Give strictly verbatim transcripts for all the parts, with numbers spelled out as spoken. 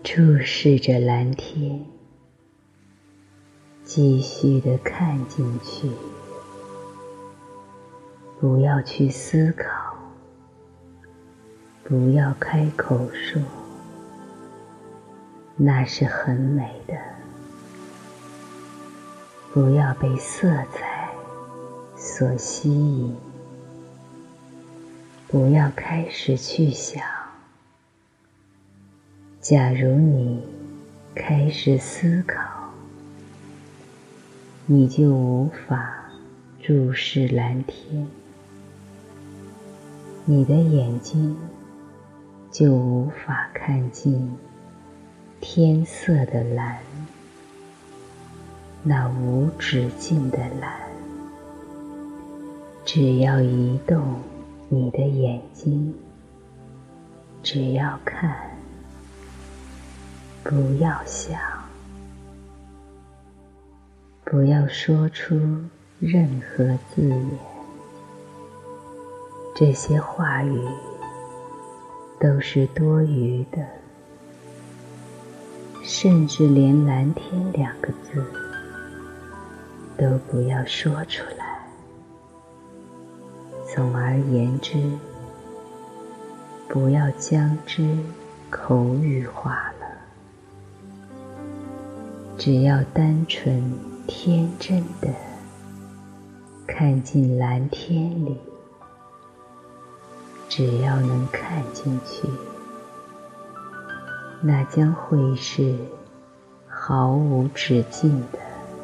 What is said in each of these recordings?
注视着蓝天，继续地看进去，不要去思考，不要开口说，那是很美的。不要被色彩所吸引，不要开始去想，假如你开始思考，你就无法注视蓝天，你的眼睛就无法看见天色的蓝，那无止境的蓝。只要移动你的眼睛，只要看，不要想，不要说出任何字眼，这些话语都是多余的，甚至连蓝天两个字都不要说出来。总而言之，不要将之口语化了，只要单纯天真的看进蓝天里，只要能看进去，那将会是毫无止境的。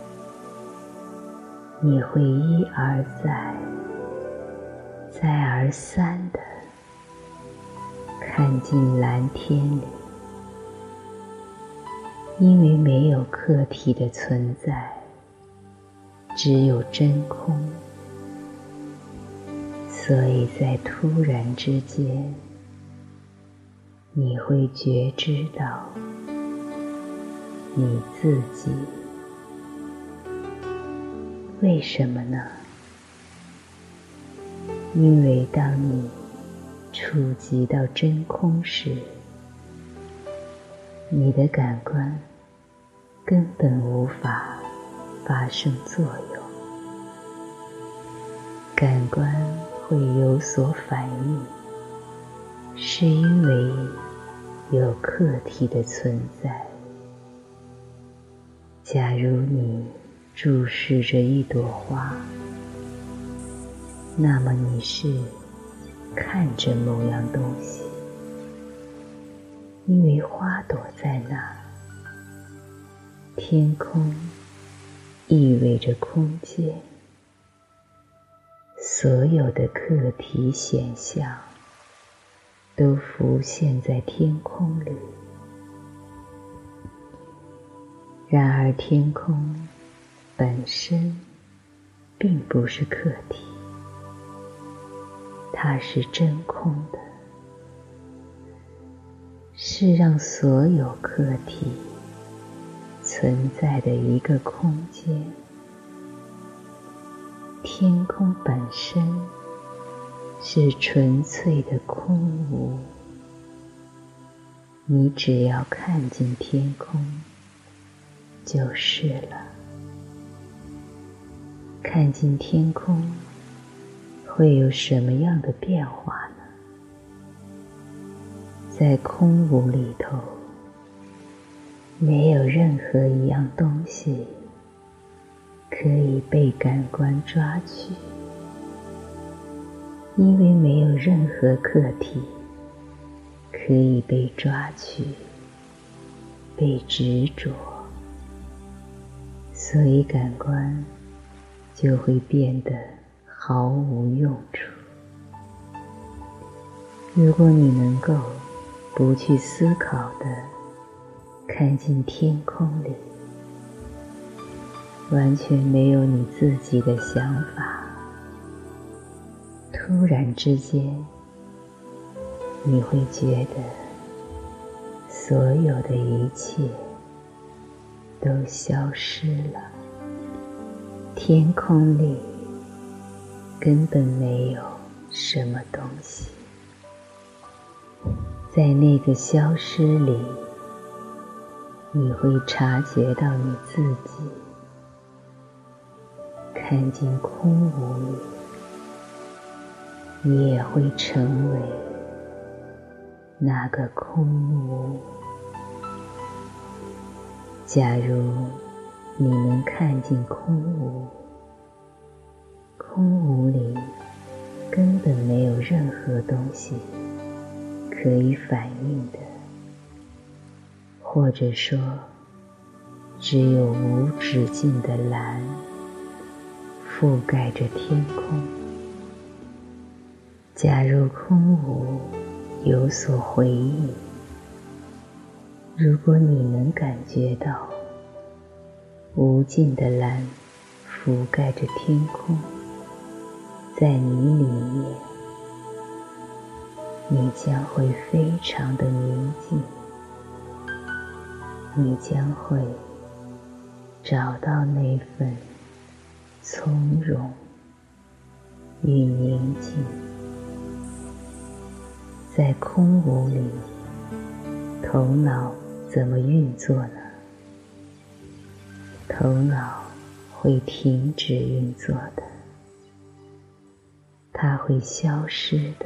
你会一而再再而三地看进蓝天里，因为没有客体的存在，只有真空，所以在突然之间，你会觉知到你自己。为什么呢？因为当你触及到真空时，你的感官根本无法发生作用，感官会有所反应，是因为有客体的存在。假如你注视着一朵花，那么你是看着某样东西，因为花朵在那儿。天空意味着空间，所有的客体显象都浮现在天空里。然而天空本身并不是客体，它是真空的，是让所有客体存在的一个空间。天空本身是纯粹的空无，你只要看进天空就是了。看进天空会有什么样的变化呢？在空无里头，没有任何一样东西可以被感官抓取，因为没有任何客体可以被抓取、被执着，所以感官就会变得毫无用处。如果你能够不去思考地看进天空里，完全没有你自己的想法，突然之间，你会觉得所有的一切都消失了。天空里根本没有什么东西，在那个消失里， 你会察觉到你自己，看进空无里，你也会成为那个空无。假如你能看进空无，空无里根本没有任何东西可以反应的，或者说只有无止境的蓝覆盖着天空。假如空无有所回应，如果你能感觉到无尽的蓝覆盖着天空，在你里面，你将会非常的宁静，你将会找到那份从容与宁静。在空无里，头脑怎么运作呢？头脑会停止运作的，它会消失的。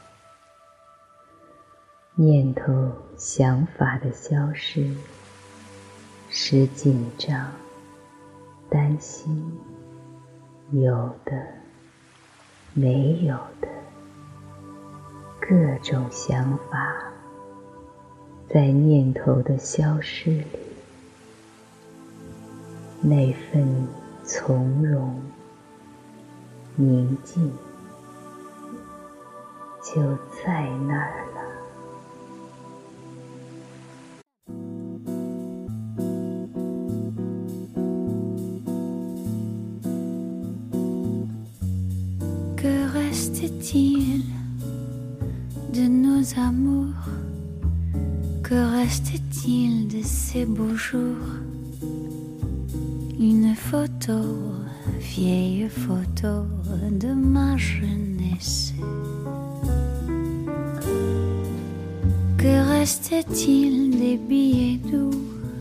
念头、想法的消失，使紧张、担心，有的、没有的各种想法，在念头的消失里，那份从容、宁静就在那儿了。 Que reste-t-il de nos amours? Que reste-t-il de ces beaux jours? Une photo, vieille photo de ma jeunesse. Que reste-t-il des billets doux,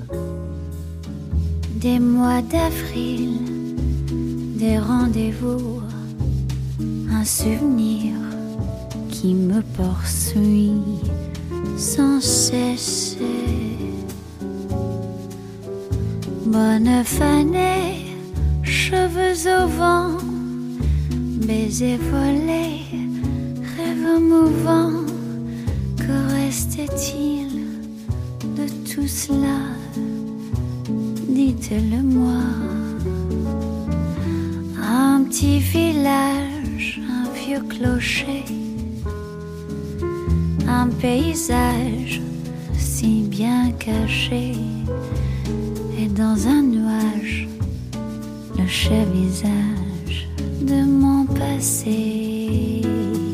des mois d'avril, des rendez-vous? Un souvenir qui me poursuit sans cesse. Bonne fanée, cheveux au vent, baisers volés, rêves mouvants. Que reste-t-il de tout cela? Dites-le-moi. Un petit village, un vieux clocher, un paysage si bien caché, et dans un nuage, le cher visage de mon passé.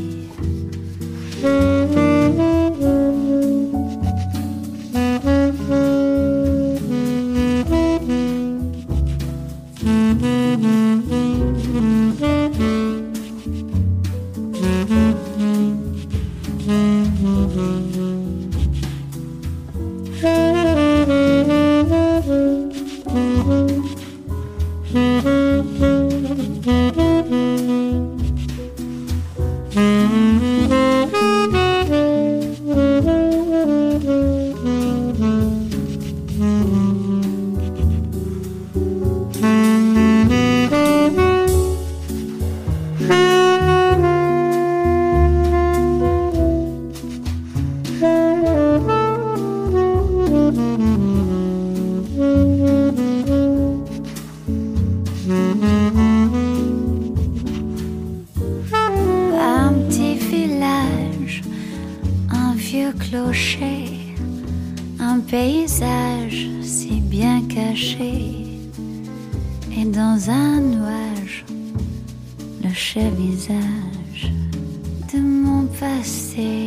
Un petit village, un vieux clocher, un paysage si bien caché, et dans un nuage, le cher visage de mon passé.